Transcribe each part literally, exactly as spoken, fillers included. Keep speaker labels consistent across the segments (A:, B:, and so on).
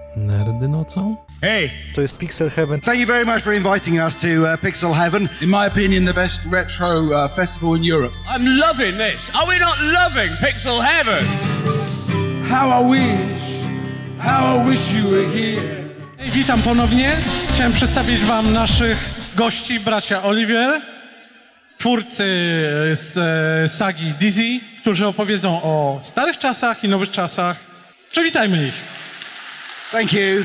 A: Nerdy nocą?
B: Hey,
C: To jest Pixel Heaven.
B: thank you very much for inviting us to uh, Pixel Heaven.
D: In my opinion, the best retro uh, festival in Europe.
E: I'm loving this. Are we not loving Pixel Heaven?
D: How I wish, how I wish you were here.
F: Witam ponownie. Chciałem przedstawić wam naszych gości, bracia Oliver, twórcy z e, sagi Dizzy, którzy opowiedzą o starych czasach i nowych czasach. Przywitajmy ich.
B: Thank you.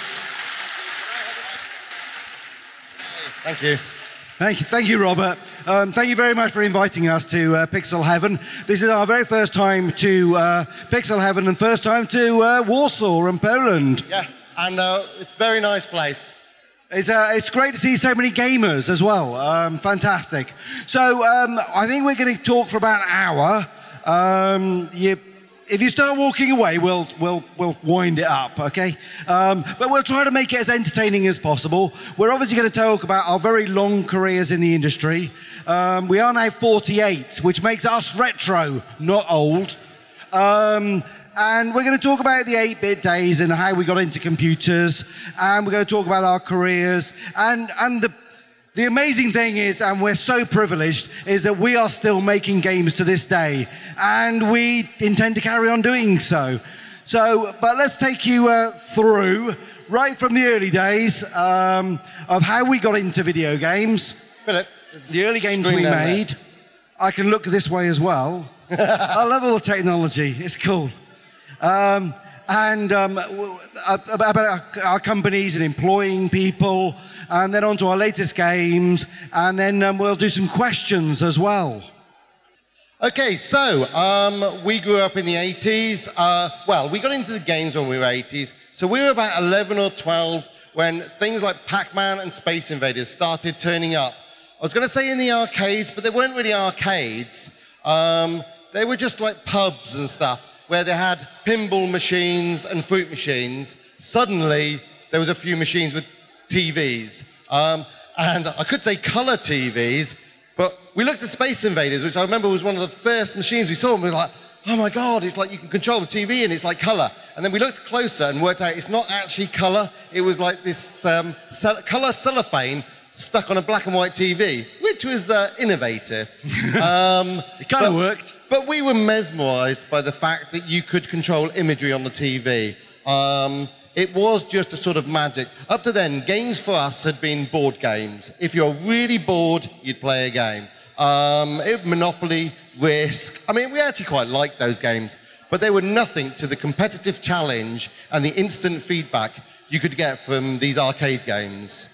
G: Thank you.
B: Thank you, thank you, Robert. Um, thank you very much for inviting us to uh, Pixel Heaven. This is our very first time to uh, Pixel Heaven and first time to uh, Warsaw and Poland.
G: Yes, and uh, it's a very nice place.
B: It's, uh, it's great to see so many gamers as well. Um, fantastic. So um, I think we're going to talk for about an hour. Um, you, if you start walking away, we'll, we'll, we'll wind it up, okay? Um, but we'll try to make it as entertaining as possible. We're obviously going to talk about our very long careers in the industry. Um, we are now forty-eight, which makes us retro, not old. Um, And we're going to talk about the eight-bit days and how we got into computers. And we're going to talk about our careers. And, and the, the amazing thing is, and we're so privileged, is that we are still making games to this day. And we intend to carry on doing so. So, but let's take you uh, through, right from the early days, um, of how we got into video games.
G: Philip,
B: The early games we made. I can look this way as well. I love all the technology. It's cool. Um, and um, w- about our, our companies and employing people, and then on to our latest games, and then um, we'll do some questions as well.
G: Okay, so um, we grew up in the eighties. Uh, well, we got into the games when we were eighties. So we were about eleven or twelve when things like Pac-Man and Space Invaders started turning up. I was going to say in the arcades, but they weren't really arcades. Um, they were just like pubs and stuff, where they had pinball machines and fruit machines. Suddenly, there was a few machines with T Vs. Um, and I could say color T Vs, but we looked at Space Invaders, which I remember was one of the first machines we saw, and we were like, oh my God, it's like you can control the T V and it's like color. And then we looked closer and worked out it's not actually color. It was like this um, cel- color cellophane stuck on a black and white T V, which was uh, innovative. Um,
B: It kind of
G: but-
B: worked.
G: But we were mesmerized by the fact that you could control imagery on the T V. Um, it was just a sort of magic. Up to then, games for us had been board games. If you're really bored, you'd play a game. Um, it, Monopoly, Risk. I mean, we actually quite liked those games, but they were nothing to the competitive challenge and the instant feedback you could get from these arcade games.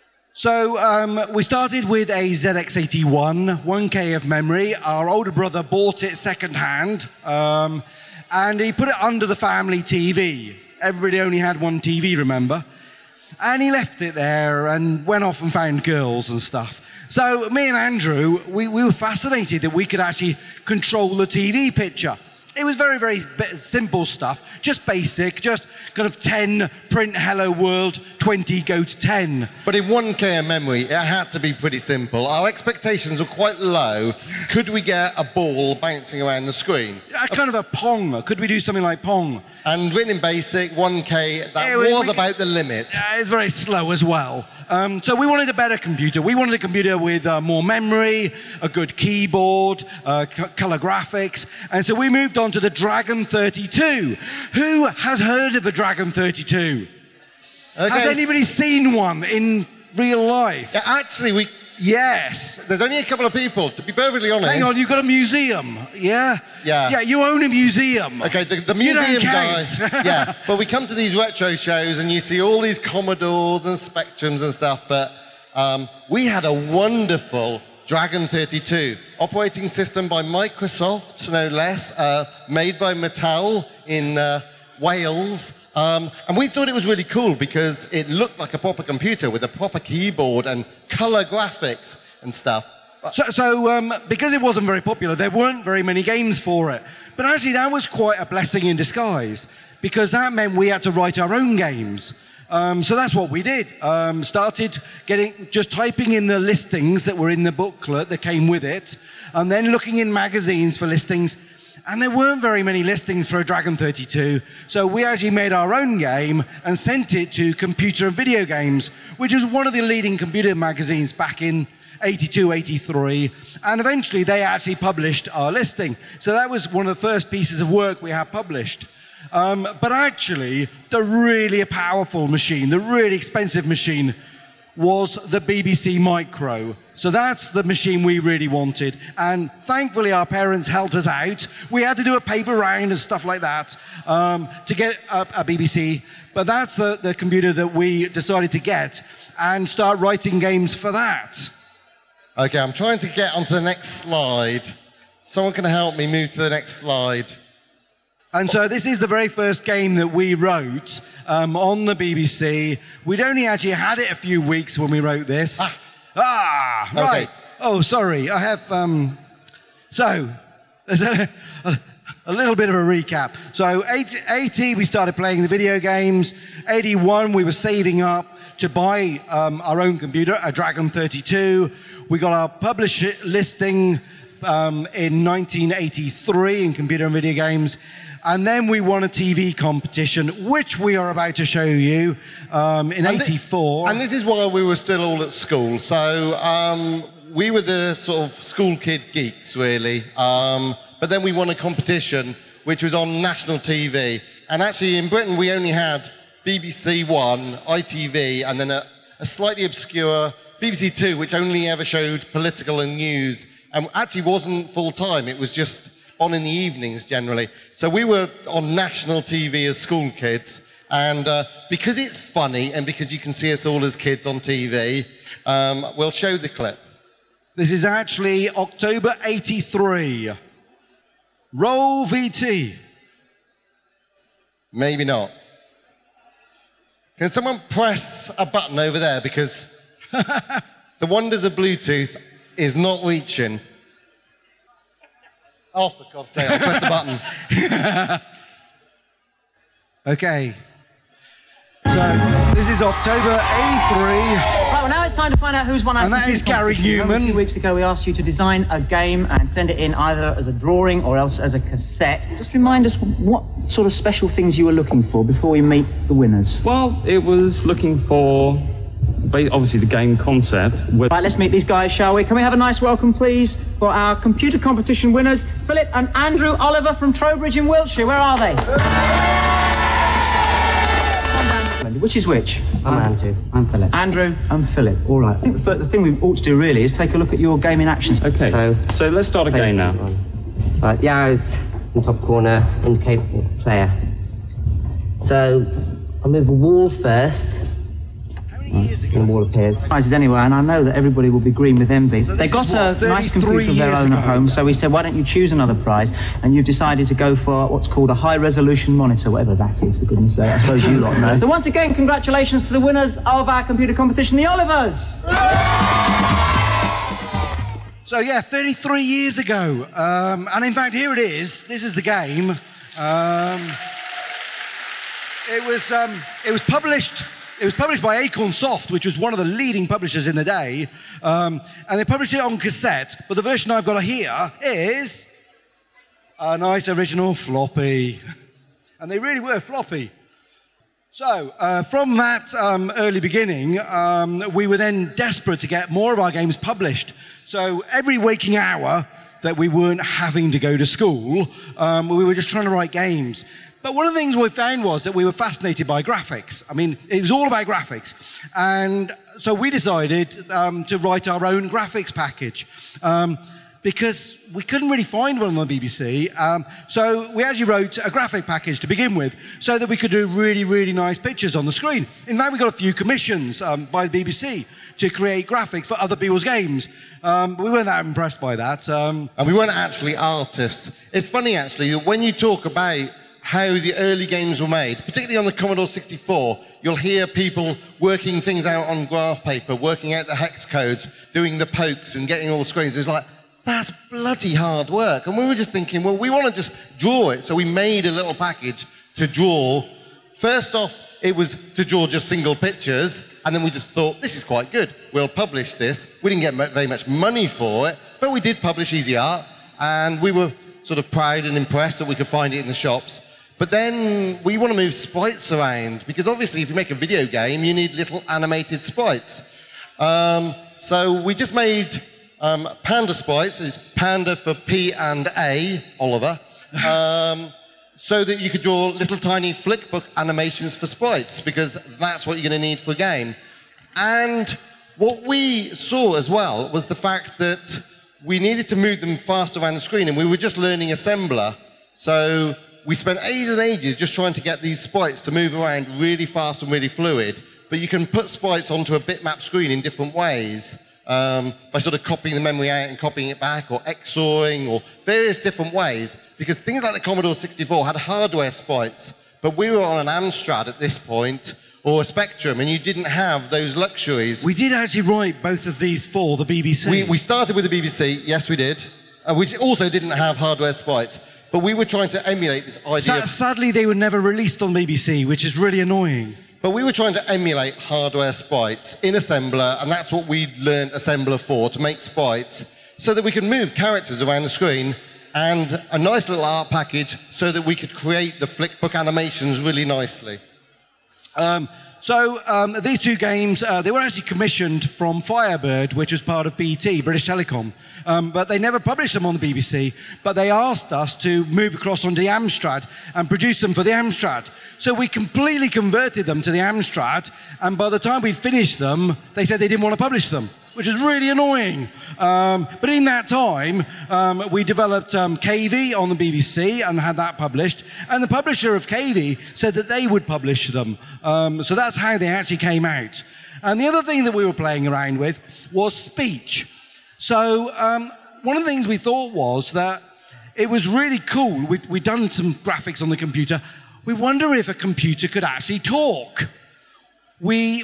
B: So um, we started with a Z X eighty-one, one K of memory. Our older brother bought it second-hand, um, and he put it under the family T V. Everybody only had one T V, remember? And he left it there and went off and found girls and stuff. So me and Andrew, we, we were fascinated that we could actually control the T V picture. It was very, very b- simple stuff, just basic, just kind of ten, print hello world, twenty, go to ten.
G: But in one K of memory, it had to be pretty simple. Our expectations were quite low. Could we get a ball bouncing around the screen?
B: A kind of a Pong. Could we do something like Pong?
G: And written in BASIC, one K, that
B: Yeah, we-
G: was
B: we-
G: about the limit.
B: Uh, it's very slow as well. Um, so we wanted a better computer. We wanted a computer with uh, more memory, a good keyboard, uh, c- color graphics. And so we moved on to the Dragon thirty-two. Who has heard of a Dragon thirty-two?
G: Okay.
B: Has anybody seen one in real life?
G: Yeah, actually, we
B: Yes.
G: there's only a couple of people, to be perfectly honest.
B: Hang on, you've got a museum, yeah?
G: Yeah.
B: Yeah, you own a museum.
G: Okay, the, the
B: You don't
G: museum
B: count.
G: guy. Yeah, but we come to these retro shows and you see all these Commodores and Spectrums and stuff, but um, we had a wonderful Dragon thirty-two, operating system by Microsoft, no less, uh, made by Mattel in uh, Wales. Um, and we thought it was really cool because it looked like a proper computer with a proper keyboard and color graphics and stuff.
B: So, so um, because it wasn't very popular, there weren't very many games for it. But actually, that was quite a blessing in disguise, because that meant we had to write our own games. Um, so that's what we did. Um, started getting, just typing in the listings that were in the booklet that came with it, and then looking in magazines for listings. And there weren't very many listings for a Dragon thirty-two, so we actually made our own game and sent it to Computer and Video Games, which was one of the leading computer magazines back in eighty-two, eighty-three, and eventually they actually published our listing. So that was one of the first pieces of work we had published. Um, but actually, the really powerful machine, the really expensive machine, was the B B C Micro. So that's the machine we really wanted. And thankfully, our parents helped us out. We had to do a paper round and stuff like that um, to get a, a B B C. But that's the, the computer that we decided to get and start writing games for that.
G: Okay, I'm trying to get onto the next slide. Someone can help me move to the next slide.
B: And so this is the very first game that we wrote um, on the B B C. We'd only actually had it a few weeks when we wrote this.
G: Ah,
B: ah right.
G: Okay.
B: Oh, sorry. I have... Um, so, there's a, a, a little bit of a recap. So, eighty, eighty, we started playing the video games. eighty-one, we were saving up to buy um, our own computer, a Dragon thirty-two. We got our publish listing um, in nineteen eighty-three in Computer and Video Games. And then we won a T V competition, which we are about to show you um, in
G: and
B: eighty-four.
G: Th- and this is while we were still all at school. So um, we were the sort of school kid geeks, really. Um, but then we won a competition, which was on national T V. And actually, in Britain, we only had B B C One, I T V, and then a, a slightly obscure B B C Two, which only ever showed political and news, and actually wasn't full-time. It was just on in the evenings generally. So we were on national T V as school kids, and uh, because it's funny and because you can see us all as kids on T V, um, we'll show the clip.
B: This is actually October eighty-three. Roll V T.
G: Maybe not. Can someone press a button over there, because the wonders of Bluetooth is not reaching. Oh, for God's sake, I'll press the button.
B: Okay. So, this is October eighty-three.
A: Right, well, now it's time to find out who's won our
B: And that
A: computer
B: is Gary
A: competition. Remember,
B: Newman.
A: A few weeks ago, we asked you to design a game and send it in either as a drawing or else as a cassette. Just remind us what sort of special things you were looking for before we meet the winners.
C: Well, it was looking for, ba- obviously, the game concept. With
A: Right, let's meet these guys, shall we? Can we have a nice welcome, please, for our computer competition winners, Philip and Andrew Oliver from Trowbridge in Wiltshire. Where are they? Which is which?
H: I'm Andrew.
A: I'm Philip. Andrew and Philip. All right. I think the, the thing we ought to do really is take a look at your game in action.
C: Okay, so,
H: So-
C: let's start a game now.
H: Right, the arrows in the top corner indicate player. So I'll move a wall first,
B: How many years
H: and the
B: ago?
H: wall appears.
A: Prizes anyway, and I know that everybody will be green with envy.
B: So
A: they
B: this
A: got
B: is
A: a
B: what,
A: nice
B: thirty-three
A: computer of their
B: years
A: own at
B: ago?
A: home, so we said, why don't you choose another prize? And you've decided to go for what's called a high-resolution monitor, whatever that is, for goodness sake. I suppose you lot know. So once again, congratulations to the winners of our computer competition, the Olivers.
B: So yeah, thirty-three years ago. Um, and in fact, here it is. This is the game. Um, it was um, it was published. It was published by Acorn Soft, which was one of the leading publishers in the day. Um, and they published it on cassette. But the version I've got here is a nice original floppy. And they really were floppy. So, uh, from that um, early beginning, um, we were then desperate to get more of our games published. So, every waking hour that we weren't having to go to school, um, we were just trying to write games. But one of the things we found was that we were fascinated by graphics. I mean, it was all about graphics. And so we decided um, to write our own graphics package. Um, because we couldn't really find one on the B B C. Um, so we actually wrote a graphic package to begin with so that we could do really, really nice pictures on the screen. In fact, we got a few commissions um, by the B B C to create graphics for other people's games. Um, but we weren't that impressed by that. Um,
G: And we weren't actually artists. It's funny, actually, that when you talk about how the early games were made, particularly on the Commodore sixty-four, you'll hear people working things out on graph paper, working out the hex codes, doing the pokes and getting all the screens. It was like, that's bloody hard work. And we were just thinking, well, we want to just draw it. So we made a little package to draw. First off, it was to draw just single pictures. And then we just thought, this is quite good. We'll publish this. We didn't get very much money for it, but we did publish Easy Art. And we were sort of proud and impressed that we could find it in the shops. But then we want to move sprites around, because obviously if you make a video game, you need little animated sprites. Um, so we just made um, Panda sprites, it's Panda for P and A, Oliver, um, so that you could draw little tiny flickbook animations for sprites, because that's what you're going to need for a game. And what we saw as well was the fact that we needed to move them fast around the screen, and we were just learning assembler. So we spent ages and ages just trying to get these sprites to move around really fast and really fluid. But you can put sprites onto a bitmap screen in different ways, um, by sort of copying the memory out and copying it back, or X O R ing, or various different ways. Because things like the Commodore sixty-four had hardware sprites, but we were on an Amstrad at this point, or a Spectrum, and you didn't have those luxuries.
B: We did actually write both of these for the B B C.
G: We, we started with the B B C, yes we did, uh, which also didn't have hardware sprites. But we were trying to emulate this idea.
B: Sa-
G: of,
B: sadly, they were never released on B B C, which is really annoying.
G: But we were trying to emulate hardware sprites in assembler, and that's what we learned assembler for, to make sprites, so that we could move characters around the screen, and a nice little art package so that we could create the flickbook animations really nicely.
B: Um, so um, these two games, uh, they were actually commissioned from Firebird, which was part of B T, British Telecom. Um, but they never published them on the B B C, but they asked us to move across onto the Amstrad and produce them for the Amstrad. So we completely converted them to the Amstrad, and by the time we'd finished them, they said they didn't want to publish them, which is really annoying. Um, but in that time, um, we developed um, K V on the B B C and had that published. And the publisher of K V said that they would publish them. Um, so that's how they actually came out. And the other thing that we were playing around with was speech. So um, one of the things we thought was that it was really cool. We'd, we'd done some graphics on the computer. We wonder if a computer could actually talk. We...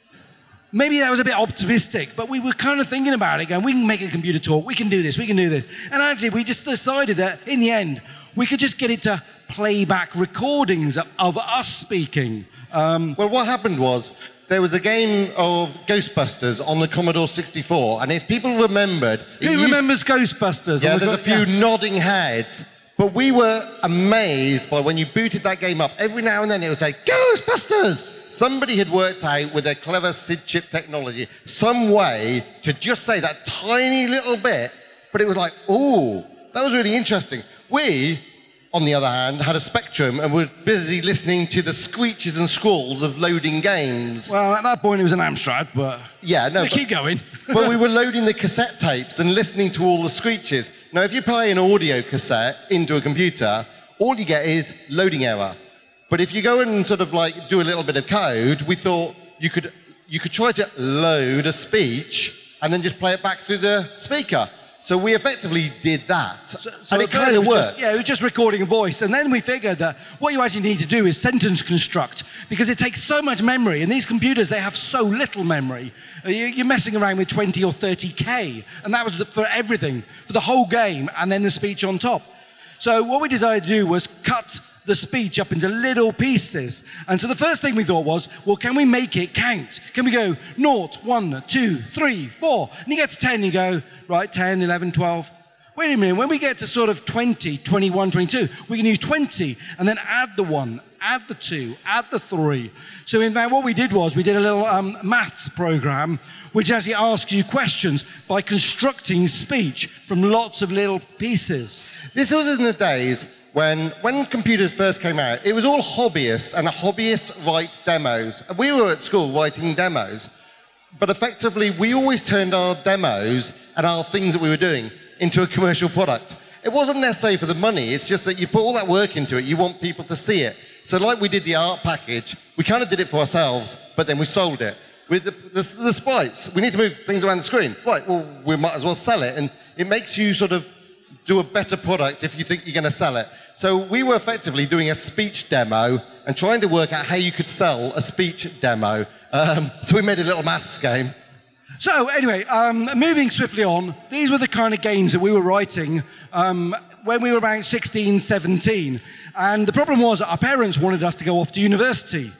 B: Maybe that was a bit optimistic, but we were kind of thinking about it, going, we can make a computer talk, we can do this, we can do this. And actually, we just decided that, in the end, we could just get it to play back recordings of, of us speaking. Um,
G: well, what happened was, there was a game of Ghostbusters on the Commodore sixty-four, and if people remembered...
B: Who
G: used,
B: remembers Ghostbusters?
G: Yeah,
B: the
G: there's a few
B: yeah.
G: nodding heads. But we were amazed by when you booted that game up, every now and then it would say, Ghostbusters! Somebody had worked out with their clever S I D chip technology some way to just say that tiny little bit, but it was like, ooh, that was really interesting. We, on the other hand, had a Spectrum and were busy listening to the screeches and scrawls of loading games.
B: Well, at that point it was an Amstrad, but...
G: Yeah, no, but,
B: keep going.
G: But we were loading the cassette tapes and listening to all the screeches. Now, if you play an audio cassette into a computer, all you get is loading error. But if you go and sort of like do a little bit of code, we thought you could, you could try to load a speech and then just play it back through the speaker. So we effectively did that,
B: so, so
G: and it kind of worked.
B: Just, yeah, it was just recording a voice. And then we figured that what you actually need to do is sentence construct, because it takes so much memory. And these computers, they have so little memory. You're messing around with twenty or thirty K. And that was for everything, for the whole game, and then the speech on top. So what we decided to do was cut the speech up into little pieces. And so the first thing we thought was, well, can we make it count? Can we go naught, one, two, three, four? And you get to ten, you go, right, ten, eleven, twelve. Wait a minute, when we get to sort of twenty, twenty-one, twenty-two, we can use twenty and then add the one, add the two, add the three. So in fact, what we did was we did a little um, maths program which actually asks you questions by constructing speech from lots of little pieces.
G: This was in the days when, when computers first came out, it was all hobbyists, and hobbyists write demos. And we were at school writing demos, but effectively we always turned our demos and our things that we were doing into a commercial product. It wasn't necessarily for the money, it's just that you put all that work into it, you want people to see it. So like we did the art package, we kind of did it for ourselves, but then we sold it. With the, the, the sprites, we need to move things around the screen. Right, well, we might as well sell it, and it makes you sort of do a better product if you think you're going to sell it. So we were effectively doing a speech demo and trying to work out how you could sell a speech demo. Um, so we made a little maths game.
B: So anyway, um, moving swiftly on, these were the kind of games that we were writing um, when we were about sixteen, seventeen. And the problem was that our parents wanted us to go off to university.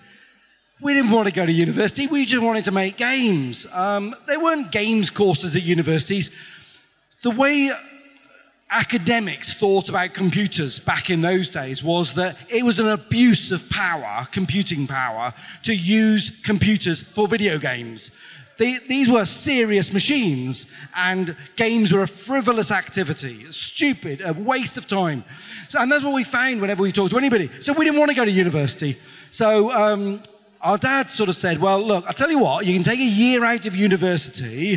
B: We didn't want to go to university, we just wanted to make games. Um, there weren't games courses at universities. The way academics thought about computers back in those days was that it was an abuse of power, computing power, to use computers for video games. They, these were serious machines, and games were a frivolous activity, stupid, a waste of time. So, and that's what we found whenever we talked to anybody. So we didn't want to go to university. So um, our dad sort of said, well, look, I'll tell you what, you can take a year out of university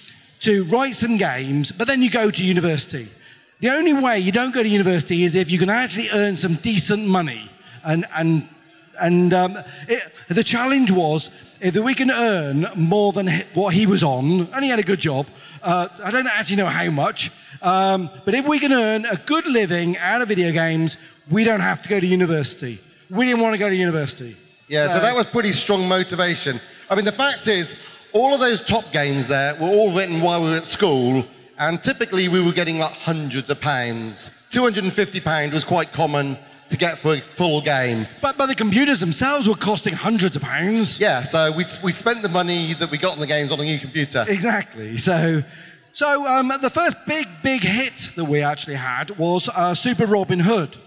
B: to write some games, but then you go to university. The only way you don't go to university is if you can actually earn some decent money. And, and, and um, it, the challenge was, if we can earn more than what he was on, and he had a good job, uh, I don't actually know how much, um, but if we can earn a good living out of video games, we don't have to go to university. We didn't want to go to university.
G: Yeah, so, so that was pretty strong motivation. I mean, the fact is, all of those top games there were all written while we were at school, and typically we were getting like hundreds of pounds. two hundred fifty pounds was quite common to get for a full game.
B: But, but the computers themselves were costing hundreds of pounds.
G: Yeah, so we, we spent the money that we got on the games on a new computer.
B: Exactly. So, so um, the first big, big hit that we actually had was uh, Super Robin Hood.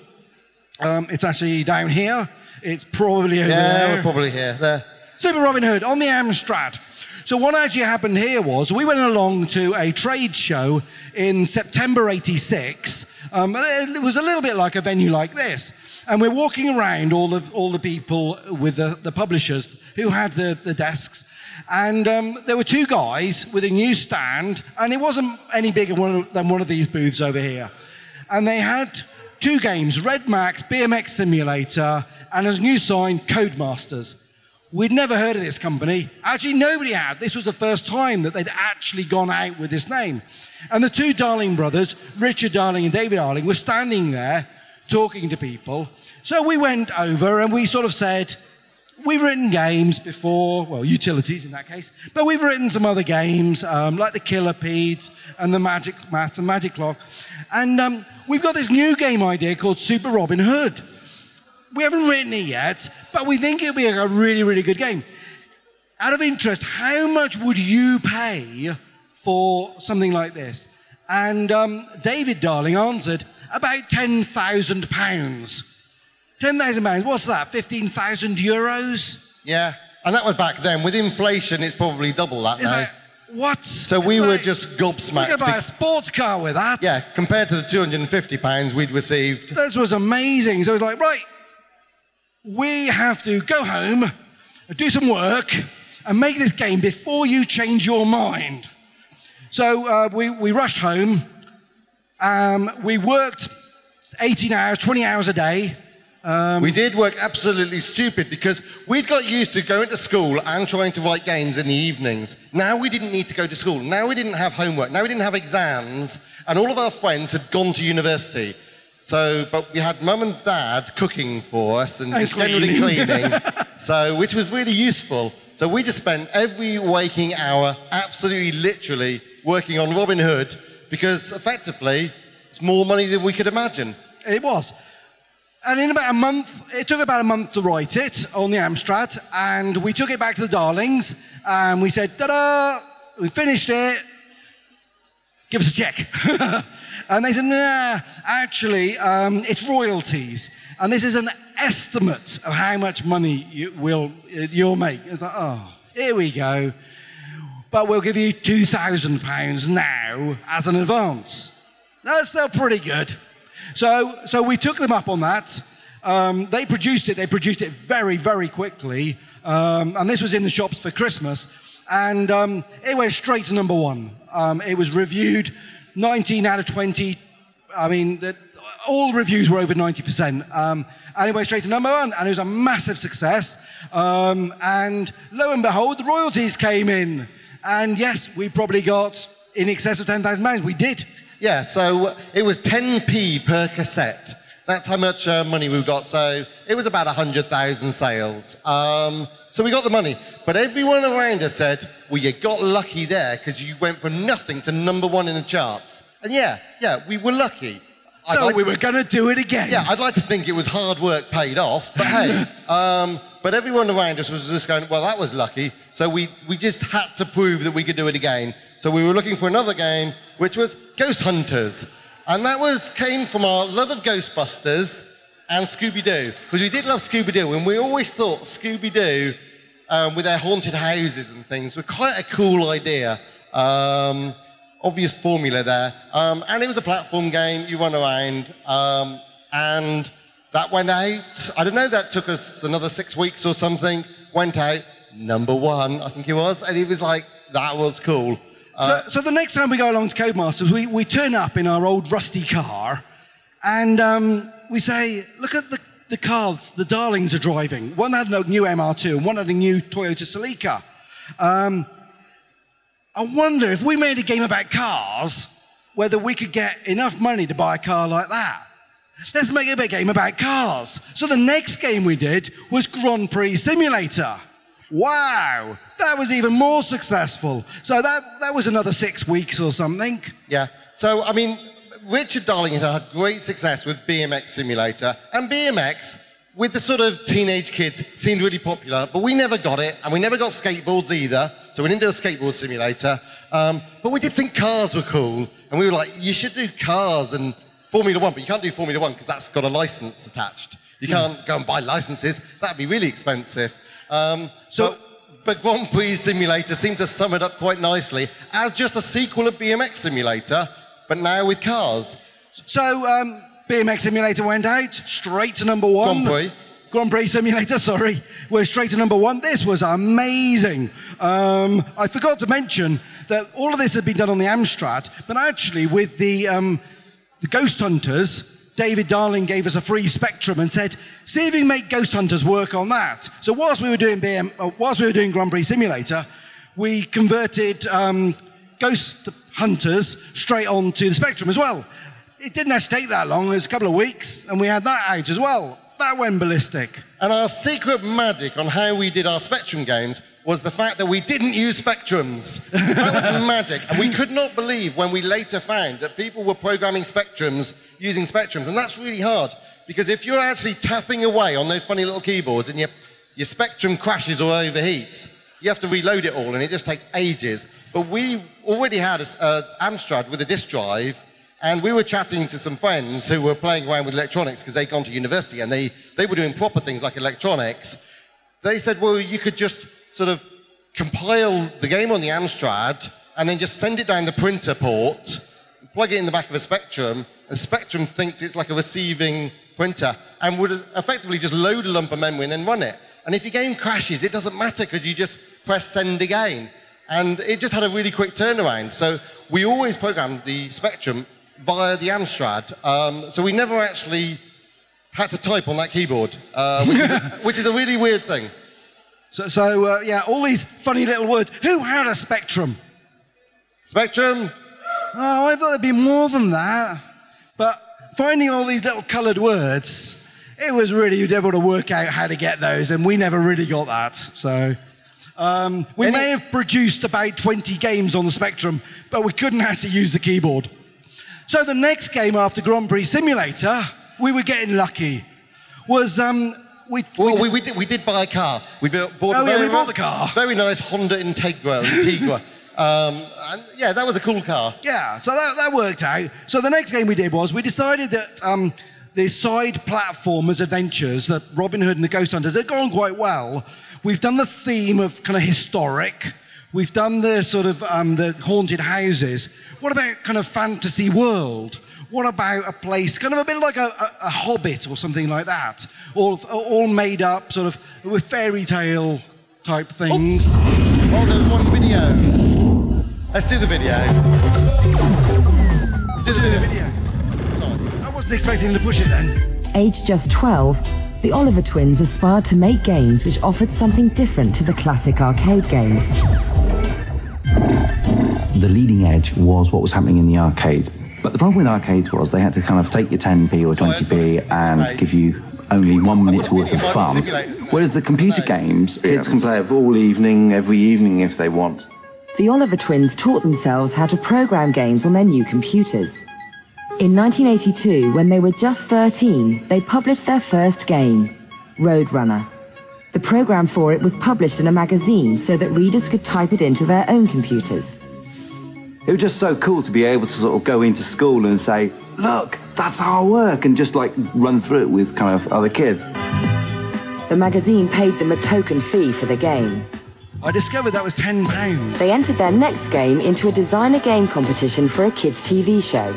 B: Um, it's actually down here. It's probably over
G: yeah,
B: there.
G: Yeah, we're probably here. There.
B: Super Robin Hood on the Amstrad. So what actually happened here was we went along to a trade show in September eighty-six. Um, it was a little bit like a venue like this. And we're walking around all of all the people with the, the publishers who had the, the desks. And um, there were two guys with a new stand, and it wasn't any bigger than one of these booths over here. And they had two games, Red Max, B M X Simulator, and as new sign, Codemasters. We'd never heard of this company. Actually, nobody had. This was the first time that they'd actually gone out with this name. And the two Darling brothers, Richard Darling and David Darling, were standing there talking to people. So we went over and we sort of said, we've written games before, well, utilities in that case, but we've written some other games, um, like the Killipedes and the Magic Maths and Magic Clock. And um, we've got this new game idea called Super Robin Hood. We haven't written it yet, but we think it'll be a really, really good game. Out of interest, how much would you pay for something like this? And um, David Darling answered, about ten thousand pounds. ten thousand pounds, what's that, fifteen thousand euros?
G: Yeah, and that was back then. With inflation, it's probably double that
B: It's
G: now.
B: like, what?
G: So we
B: It's
G: were
B: like,
G: just gobsmacked.
B: We could buy a sports car with that.
G: Yeah, compared to the two hundred fifty pounds we'd received.
B: This was amazing. So it was like, right, we have to go home, do some work, and make this game before you change your mind. So uh, we, we rushed home. Um, we worked eighteen hours, twenty hours a day. Um,
G: we did work absolutely stupid because we'd got used to going to school and trying to write games in the evenings. Now we didn't need to go to school. Now we didn't have homework. Now we didn't have exams. And all of our friends had gone to university. So, but we had mum and dad cooking for us and,
B: and
G: just generally
B: cleaning.
G: cleaning, so, which was really useful. So we just spent every waking hour, absolutely literally, working on Robin Hood because effectively, it's more money than we could imagine.
B: It was. And in about a month, it took about a month to write it on the Amstrad, and we took it back to the Darlings, and we said, ta-da, we finished it, give us a check. And they said, nah, actually, um, it's royalties. And this is an estimate of how much money you will, you'll make. It's like, oh, here we go. But we'll give you two thousand pounds now as an advance. That's still pretty good. So, so we took them up on that. Um, they produced it. They produced it very, very quickly. Um, and this was in the shops for Christmas. And um, it went straight to number one. Um, it was reviewed nineteen out of twenty. I mean, the, all reviews were over ninety percent. Um, and it went straight to number one. And it was a massive success. Um, and lo and behold, the royalties came in. And yes, we probably got in excess of ten thousand pounds. We did.
G: Yeah, so it was ten p per cassette. That's how much uh, money we got. So it was about one hundred thousand sales. Um, so we got the money. But everyone around us said, well, you got lucky there because you went from nothing to number one in the charts. And yeah, yeah, we were lucky.
B: So
G: like
B: we were going to do it again.
G: Yeah, I'd like to think it was hard work paid off. But hey, um, but everyone around us was just going, well, that was lucky. So we, we just had to prove that we could do it again. So we were looking for another game, which was Ghost Hunters. And that was came from our love of Ghostbusters and Scooby-Doo. Because we did love Scooby-Doo, and we always thought Scooby-Doo, um, with their haunted houses and things, were quite a cool idea. Um, obvious formula there. Um, and it was a platform game, you run around, um, and that went out. I don't know, that took us another six weeks or something, went out, number one, I think it was, and it was like, that was cool. Uh,
B: so, so the next time we go along to Codemasters, we, we turn up in our old rusty car, and um, we say, look at the, the cars the Darlings are driving. One had a new M R two, and one had a new Toyota Celica. Um, I wonder if we made a game about cars, whether we could get enough money to buy a car like that. Let's make a game about cars. So the next game we did was Grand Prix Simulator. Wow, that was even more successful. So that, that was another six weeks or something.
G: Yeah, so I mean, Richard Darling had had great success with B M X Simulator, and B M X, with the sort of teenage kids, seemed really popular, but we never got it, and we never got skateboards either, so we didn't do a skateboard simulator, um, but we did think cars were cool, and we were like, you should do cars and Formula One, but you can't do Formula One because that's got a license attached. You can't go and buy licenses, that'd be really expensive. Um, so, but, but Grand Prix Simulator seemed to sum it up quite nicely as just a sequel of B M X Simulator, but now with cars.
B: So um, B M X Simulator went out, straight to number one.
G: Grand Prix.
B: Grand Prix Simulator, sorry. We're straight to number one. This was amazing. Um, I forgot to mention that all of this had been done on the Amstrad, but actually with the, um, the Ghost Hunters, David Darling gave us a free Spectrum and said, see if you can make Ghost Hunters work on that. So whilst we were doing B M, uh, whilst we were doing Grand Prix Simulator, we converted um, Ghost Hunters straight onto the Spectrum as well. It didn't actually take that long, it was a couple of weeks, and we had that out as well. That went ballistic.
G: And our secret magic on how we did our Spectrum games was the fact that we didn't use Spectrums. That was magic. And we could not believe when we later found that people were programming Spectrums using Spectrums. And that's really hard, because if you're actually tapping away on those funny little keyboards and your, your Spectrum crashes or overheats, you have to reload it all, and it just takes ages. But we already had an Amstrad with a disk drive, and we were chatting to some friends who were playing around with electronics because they'd gone to university and they, they were doing proper things like electronics. They said, well, you could just sort of compile the game on the Amstrad and then just send it down the printer port, plug it in the back of a Spectrum, and Spectrum thinks it's like a receiving printer and would effectively just load a lump of memory and then run it. And if your game crashes, it doesn't matter because you just press send again. And it just had a really quick turnaround. So we always programmed the Spectrum via the Amstrad. Um, so we never actually had to type on that keyboard, uh, which, is a, which is a really weird thing.
B: So, so uh, yeah, all these funny little words. Who had a Spectrum?
G: Spectrum?
B: Oh, I thought there'd be more than that. But finding all these little coloured words, it was really difficult to work out how to get those, and we never really got that. So um, we
G: Any-
B: may have produced about twenty games on the Spectrum, but we couldn't actually use the keyboard. So the next game after Grand Prix Simulator, we were getting lucky, was um, we,
G: Well,
B: we,
G: we, we, did, we did buy a car. We built, bought
B: Oh,
G: a
B: yeah,
G: very,
B: we bought the car.
G: Very nice Honda Integra. Integra. um, and yeah, that was a cool car.
B: Yeah, so that, that worked out. So the next game we did was we decided that um, the side platformers adventures, that Robin Hood and the Ghost Hunters, they've gone quite well. We've done the theme of kind of historic. We've done the sort of um, the haunted houses. What about kind of fantasy world? What about a place, kind of a bit like a, a, a Hobbit or something like that? All, all made up sort of with fairy tale type things.
G: Oops. Oh, there's one video. Let's do the video. Do the video.
B: video. Sorry. I wasn't expecting to push it then.
I: Aged just twelve, the Oliver twins aspired to make games which offered something different to the classic arcade games.
J: The leading edge was what was happening in the arcades. But the problem with arcades was they had to kind of take your ten p or twenty p and give you only one minute's worth of fun. Whereas the computer games...
K: Kids can play it all evening, every evening if they want.
I: The Oliver twins taught themselves how to program games on their new computers. In nineteen eighty-two, when they were just thirteen, they published their first game, Roadrunner. The program for it was published in a magazine so that readers could type it into their own computers.
J: It was just so cool to be able to sort of go into school and say, look, that's how I work, and just like run through it with kind of other kids.
I: The magazine paid them a token fee for the game.
B: I discovered that was ten pounds.
I: They entered their next game into a designer game competition for a kids' T V show,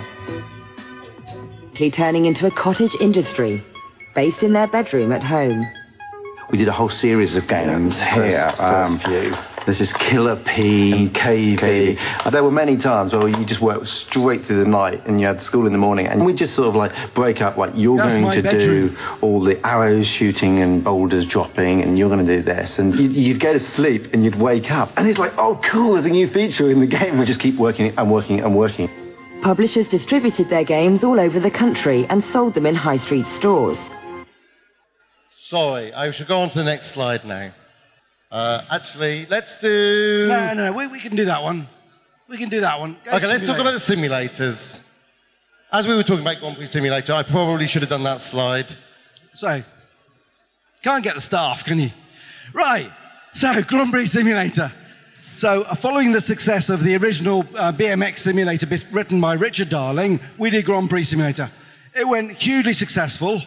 I: turning into a cottage industry based in their bedroom at home.
J: We did a whole series of games
K: yeah,
J: here.
K: First, first
J: um,
K: few.
J: There's this Killer P,
K: and K V. And there were many times where you just worked straight through the night and you had school in the morning, and we just sort of like break up, like you're
B: That's
K: going
B: my
K: to
B: bedroom.
K: do all the arrows shooting and boulders dropping, and you're going to do this, and you'd, you'd go to sleep and you'd wake up and it's like, oh cool, there's a new feature in the game. We just keep working and working and working.
I: Publishers distributed their games all over the country and sold them in high street stores.
G: Sorry, I should go on to the next slide now. Uh, actually, let's do...
B: No, no, we, we can do that one. We can do that one. Go
G: Okay, let's talk about the simulators. As we were talking about Grand Prix Simulator, I probably should have done that slide.
B: So, can't get the staff, can you? Right, so Grand Prix Simulator. So, uh, following the success of the original uh, B M X simulator bit written by Richard Darling, we did Grand Prix Simulator. It went hugely successful.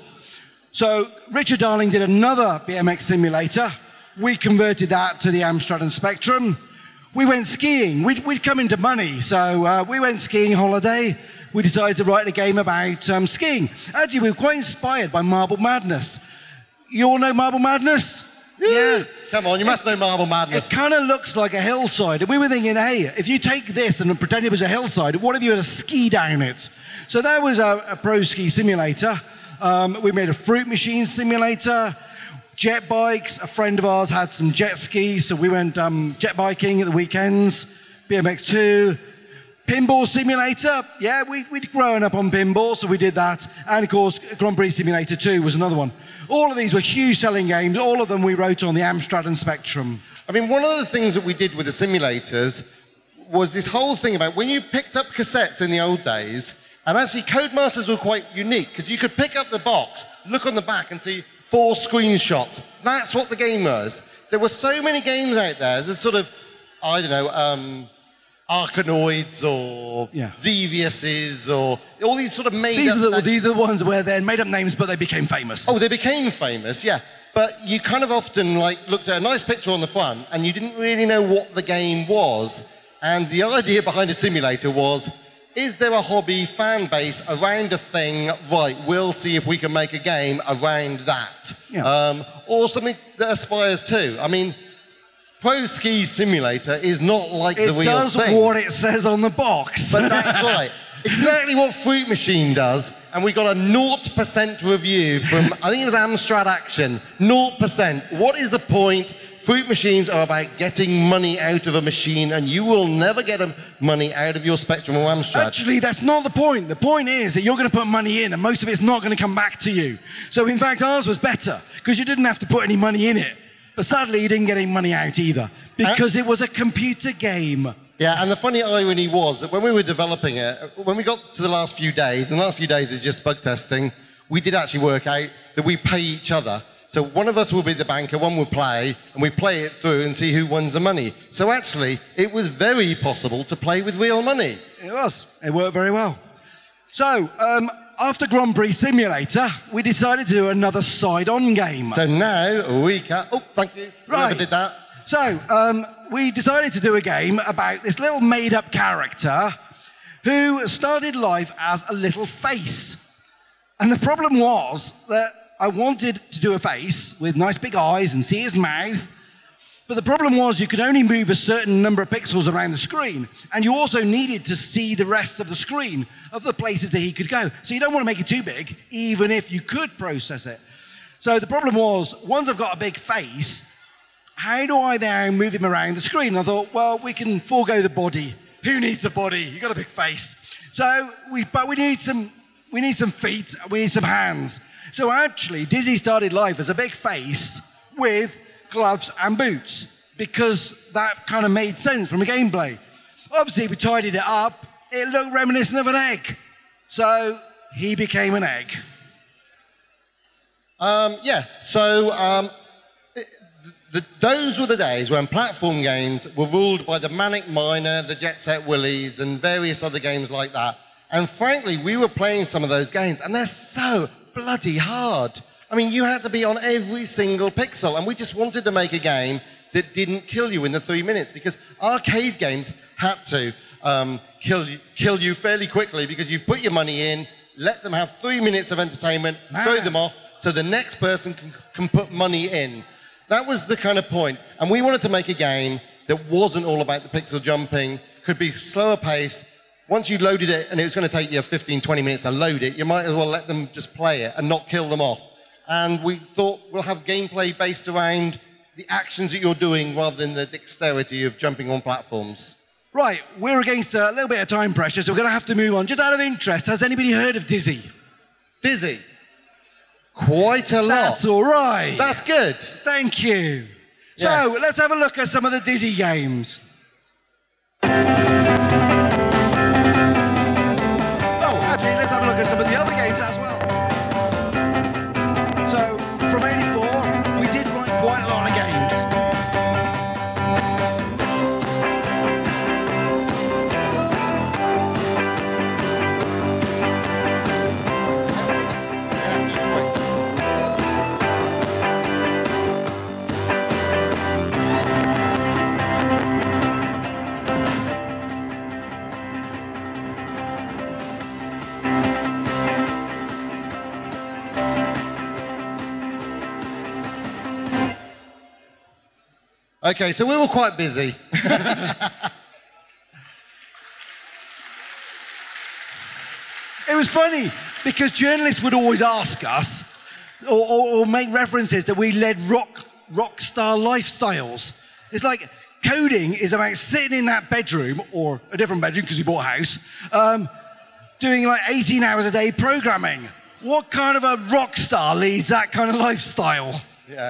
B: So, Richard Darling did another B M X simulator. We converted that to the Amstrad and Spectrum. We went skiing. We'd, we'd come into money, so uh, we went skiing holiday. We decided to write a game about um, skiing. Actually, we were quite inspired by Marble Madness. You all know Marble Madness? Yeah.
G: Come on, you must know Marble Madness.
B: It kind of looks like a hillside. And we were thinking, hey, if you take this and pretend it was a hillside, what if you had to ski down it? So that was a, a pro ski simulator. Um, we made a fruit machine simulator. Jet bikes, a friend of ours had some jet skis, so we went um, jet biking at the weekends, B M X two. Pinball simulator, yeah, we, we'd grown up on pinball, so we did that. And of course, Grand Prix Simulator two was another one. All of these were huge selling games, all of them we wrote on the Amstrad and Spectrum.
G: I mean, one of the things that we did with the simulators was this whole thing about when you picked up cassettes in the old days, and actually Codemasters were quite unique, because you could pick up the box, look on the back and see four screenshots. That's what the game was. There were so many games out there, there's sort of, I don't know, um, Arkanoids or
B: yeah.
G: Xeviouses or all these sort of made
B: these
G: up...
B: Are the, these are the ones where they made up names, but they became famous.
G: Oh, they became famous, yeah. But you kind of often like looked at a nice picture on the front and you didn't really know what the game was. And the idea behind a simulator was, is there a hobby fan base around a thing? Right, we'll see if we can make a game around that.
B: Yeah.
G: Um, or something that aspires to. I mean, Pro Ski Simulator is not like
B: it
G: the real
B: does
G: thing.
B: what it says on the box.
G: But that's right. Exactly what Fruit Machine does. And we got a zero percent review from, I think it was Amstrad Action. zero percent. What is the point? Fruit machines are about getting money out of a machine, and you will never get a money out of your Spectrum or Amstrad.
B: Actually, that's not the point. The point is that you're going to put money in, and most of it's not going to come back to you. So, in fact, ours was better, because you didn't have to put any money in it. But sadly, you didn't get any money out either, because uh, it was a computer game.
G: Yeah, and the funny irony was that when we were developing it, when we got to the last few days, and the last few days is just bug testing, we did actually work out that we pay each other. So one of us will be the banker, one will play, and we play it through and see who wins the money. So actually, it was very possible to play with real money.
B: It was. It worked very well. So, um, after Grand Prix Simulator, we decided to do another side-on game.
G: So now we can... Oh, thank you.
B: Right.
G: Whoever did that.
B: So, um, we decided to do a game about this little made-up character who started life as a little face. And the problem was that I wanted to do a face with nice big eyes and see his mouth. But the problem was you could only move a certain number of pixels around the screen. And you also needed to see the rest of the screen of the places that he could go. So you don't want to make it too big, even if you could process it. So the problem was, once I've got a big face, how do I now move him around the screen? And I thought, well, we can forego the body. Who needs a body? You've got a big face. So, we, but we need some, we need some feet, we need some hands. So actually, Dizzy started life as a big face with gloves and boots, because that kind of made sense from a gameplay. Obviously, we tidied it up. It looked reminiscent of an egg. So he became an egg.
G: Um, yeah, so um, it, the, those were the days when platform games were ruled by the Manic Miner, the Jet Set Willies, and various other games like that. And frankly, we were playing some of those games, and they're so bloody hard. I mean, you had to be on every single pixel, and we just wanted to make a game that didn't kill you in the three minutes, because arcade games had to um, kill, you, kill you fairly quickly, because you've put your money in, let them have three minutes of entertainment, Man. throw them off, so the next person can, can put money in. That was the kind of point. And we wanted to make a game that wasn't all about the pixel jumping, could be slower paced. Once you loaded it, and it was going to take you fifteen, twenty minutes to load it, you might as well let them just play it and not kill them off. And we thought we'll have gameplay based around the actions that you're doing rather than the dexterity of jumping on platforms.
B: Right, we're against a little bit of time pressure, so we're going to have to move on. Just out of interest, has anybody heard of Dizzy?
G: Dizzy? Quite a lot.
B: That's all right.
G: That's good.
B: Thank you.
G: Yes.
B: So, let's have a look at some of the Dizzy games. Oh, actually, let's have a look at some of the other games as well. So, from eighty-four, we did write quite a lot of games.
G: Okay, so we were quite busy.
B: It was funny, because journalists would always ask us, or, or, or make references that we led rock, rock star lifestyles. It's like, coding is about sitting in that bedroom, or a different bedroom because we bought a house, um, doing like eighteen hours a day programming. What kind of a rock star leads that kind of lifestyle?
G: Yeah.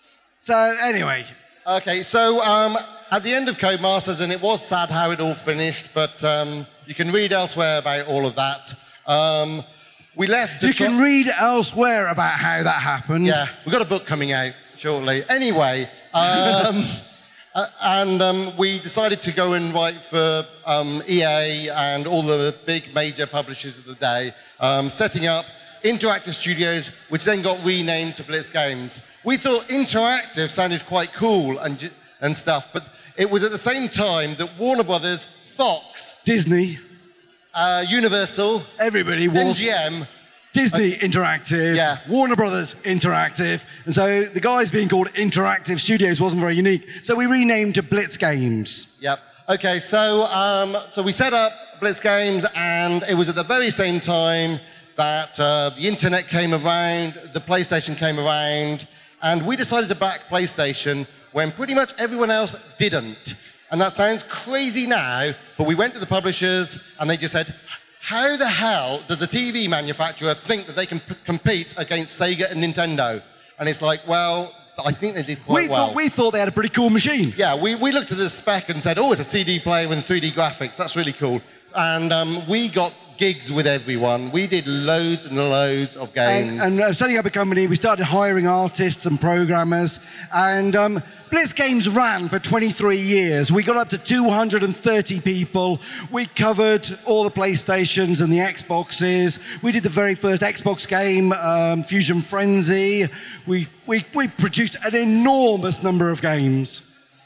B: So anyway.
G: Okay, so um, at the end of Codemasters, and it was sad how it all finished, but um, you can read elsewhere about all of that. Um, we left.
B: You can read elsewhere about how that happened.
G: Yeah, we've got a book coming out shortly. Anyway, um, uh, and um, we decided to go and write for um, E A and all the big major publishers of the day, um, setting up Interactive Studios, which then got renamed to Blitz Games. We thought interactive sounded quite cool and, and stuff, but it was at the same time that Warner Brothers, Fox,
B: Disney,
G: uh, Universal,
B: everybody was
G: M G M,
B: Disney
G: uh,
B: Interactive,
G: yeah.
B: Warner Brothers Interactive, and so the guys being called Interactive Studios wasn't very unique. So we renamed to Blitz Games.
G: Yep. Okay, so um, so we set up Blitz Games, and it was at the very same time that uh, the internet came around, the PlayStation came around, and we decided to back PlayStation when pretty much everyone else didn't. And that sounds crazy now, but we went to the publishers and they just said, how the hell does a T V manufacturer think that they can p- compete against Sega and Nintendo? And it's like, well, I think they did quite
B: we
G: well.
B: Thought, we thought they had a pretty cool machine.
G: Yeah, we, we looked at the spec and said, oh, it's a C D player with three D graphics. That's really cool. And um, we got gigs with everyone. We did loads and loads of games.
B: And, and uh, setting up a company, we started hiring artists and programmers. And um, Blitz Games ran for twenty-three years. We got up to two hundred thirty people. We covered all the PlayStations and the Xboxes. We did the very first Xbox game, um, Fusion Frenzy. We, we, we produced an enormous number of games.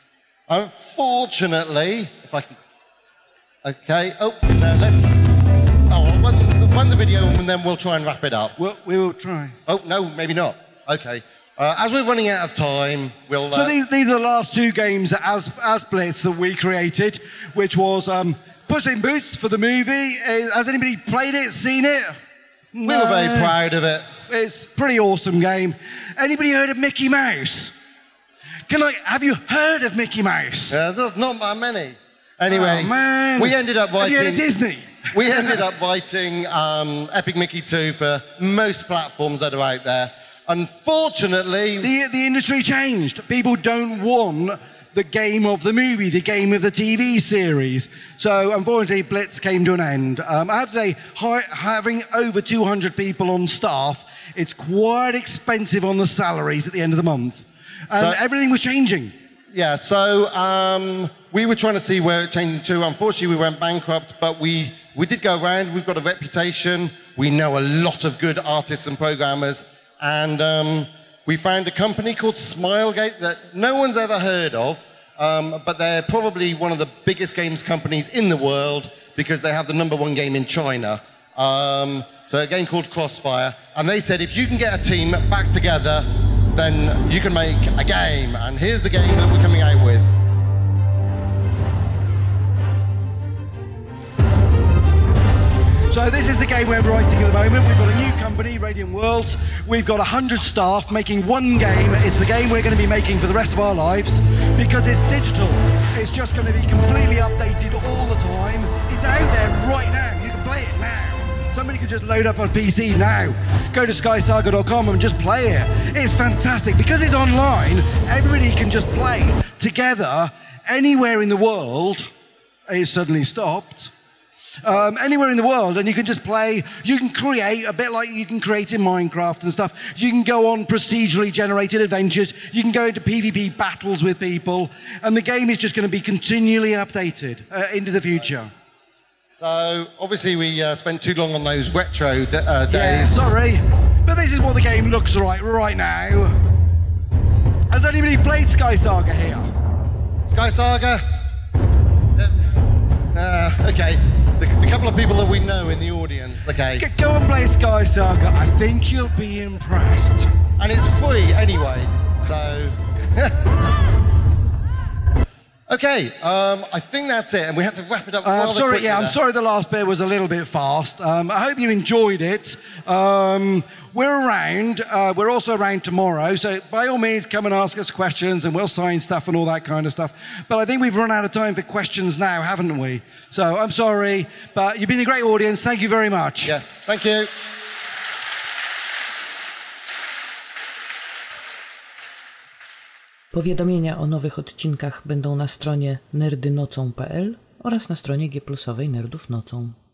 G: Unfortunately, if I can... Okay, oh, no, let's... Oh, I'll run, run the video and then we'll try and wrap it up.
B: Well, we will try.
G: Oh, no, maybe not. Okay. Uh, as we're running out of time, we'll... Uh...
B: So these, these are the last two games as, as Blitz that we created, which was um, Puss in Boots for the movie. Uh, has anybody played it, seen it?
G: We no. were very proud of it.
B: It's a pretty awesome game. Anybody heard of Mickey Mouse? Can I... Have you heard of Mickey Mouse?
G: Uh, there's not that many. Anyway,
B: oh, man.
G: we ended up writing...
B: Have you heard of Disney?
G: We ended up writing um, Epic Mickey two for most platforms that are out there. Unfortunately...
B: The, the industry changed. People don't want the game of the movie, the game of the T V series. So, unfortunately, Blitz came to an end. Um, I have to say, hi, having over two hundred people on staff, it's quite expensive on the salaries at the end of the month. And so, everything was changing.
G: Yeah, so um, we were trying to see where it changed to. Unfortunately, we went bankrupt, but we we did go around. We've got a reputation. We know a lot of good artists and programmers. And um, we found a company called Smilegate that no one's ever heard of, um, but they're probably one of the biggest games companies in the world because they have the number one game in China. Um, so a game called Crossfire. And they said, if you can get a team back together, then you can make a game. And here's the game that we're coming out with.
B: So this is the game we're writing at the moment. We've got a new company, Radiant Worlds. We've got one hundred staff making one game. It's the game we're going to be making for the rest of our lives because it's digital. It's just going to be completely updated all the time. It's out there right now. You can play it now. Somebody can just load up on P C now. Go to sky saga dot com and just play it. It's fantastic. Because it's online, everybody can just play together anywhere in the world. It's suddenly stopped. Um, anywhere in the world, and you can just play. You can create a bit like you can create in Minecraft and stuff. You can go on procedurally generated adventures. You can go into PvP battles with people, and the game is just going to be continually updated uh, into the future.
G: So obviously we uh, spent too long on those retro d- uh, days.
B: Yeah, sorry, but this is what the game looks like right now. Has anybody played Sky Saga here?
G: Sky Saga? Uh, okay. The, the couple of people that we know in the audience, okay.
B: G- go and play Sky Saga. I think you'll be impressed.
G: And it's free anyway, so... Okay, um, I think that's it, and we have to wrap it up
B: Uh,
G: rather
B: I'm sorry,
G: quickly
B: yeah, I'm
G: there.
B: sorry the last bit was a little bit fast. Um, I hope you enjoyed it. Um, we're around. Uh, we're also around tomorrow, so by all means, come and ask us questions, and we'll sign stuff and all that kind of stuff. But I think we've run out of time for questions now, haven't we? So I'm sorry, but you've been a great audience. Thank you very much.
G: Yes, thank you.
L: Powiadomienia o nowych odcinkach będą na stronie nerdynocą kropka p l oraz na stronie G plusowej Nerdów Nocą.